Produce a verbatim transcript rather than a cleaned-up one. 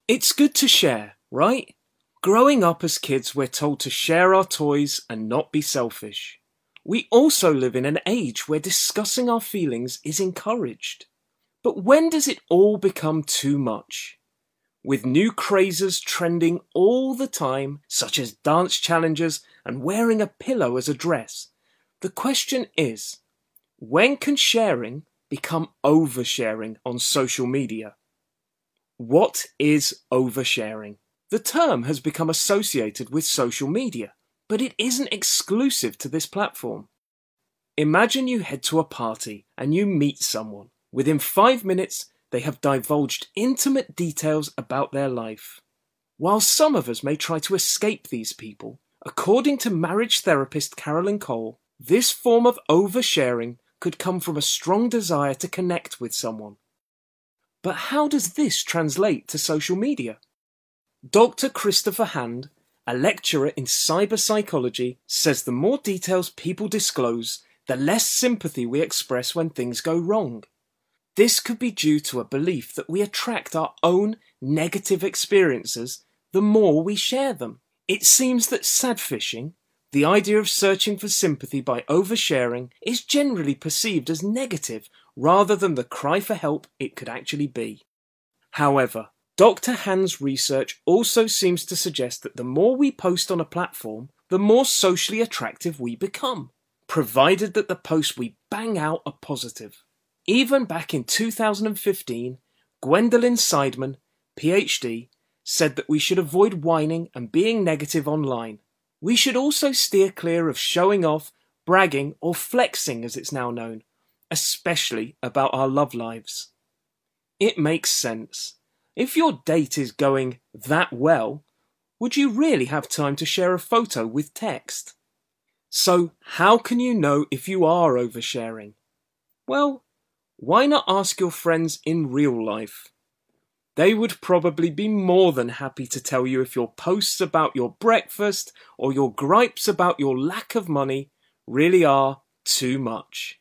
It's good to share, right? Growing up as kids, we're told to share our toys and not be selfish. We also live in an age where discussing our feelings is encouraged. But when does it all become too much? With new crazes trending all the time, such as dance challenges and wearing a pillow as a dress, the question is, when can sharing become oversharing on social media? What is oversharing? The term has become associated with social media, but it isn't exclusive to this platform. Imagine you head to a party and you meet someone. Within five minutes, they have divulged intimate details about their life. While some of us may try to escape these people, according to marriage therapist Carolyn Cole, this form of oversharing could come from a strong desire to connect with someone. But how does this translate to social media? Doctor Christopher Hand, a lecturer in cyber psychology, says the more details people disclose, the less sympathy we express when things go wrong. This could be due to a belief that we attract our own negative experiences the more we share them. It seems that sadfishing, the idea of searching for sympathy by oversharing, is generally perceived as negative rather than the cry for help it could actually be. However, Doctor Hand's research also seems to suggest that the more we post on a platform, the more socially attractive we become, provided that the posts we bang out are positive. Even back in two thousand fifteen, Gwendolyn Seidman, P H D, said that we should avoid whining and being negative online. We should also steer clear of showing off, bragging, or flexing as it's now known, especially about our love lives. It makes sense. If your date is going that well, would you really have time to share a photo with text? So, how can you know if you are oversharing? Well, why not ask your friends in real life? They would probably be more than happy to tell you if your posts about your breakfast or your gripes about your lack of money really are too much.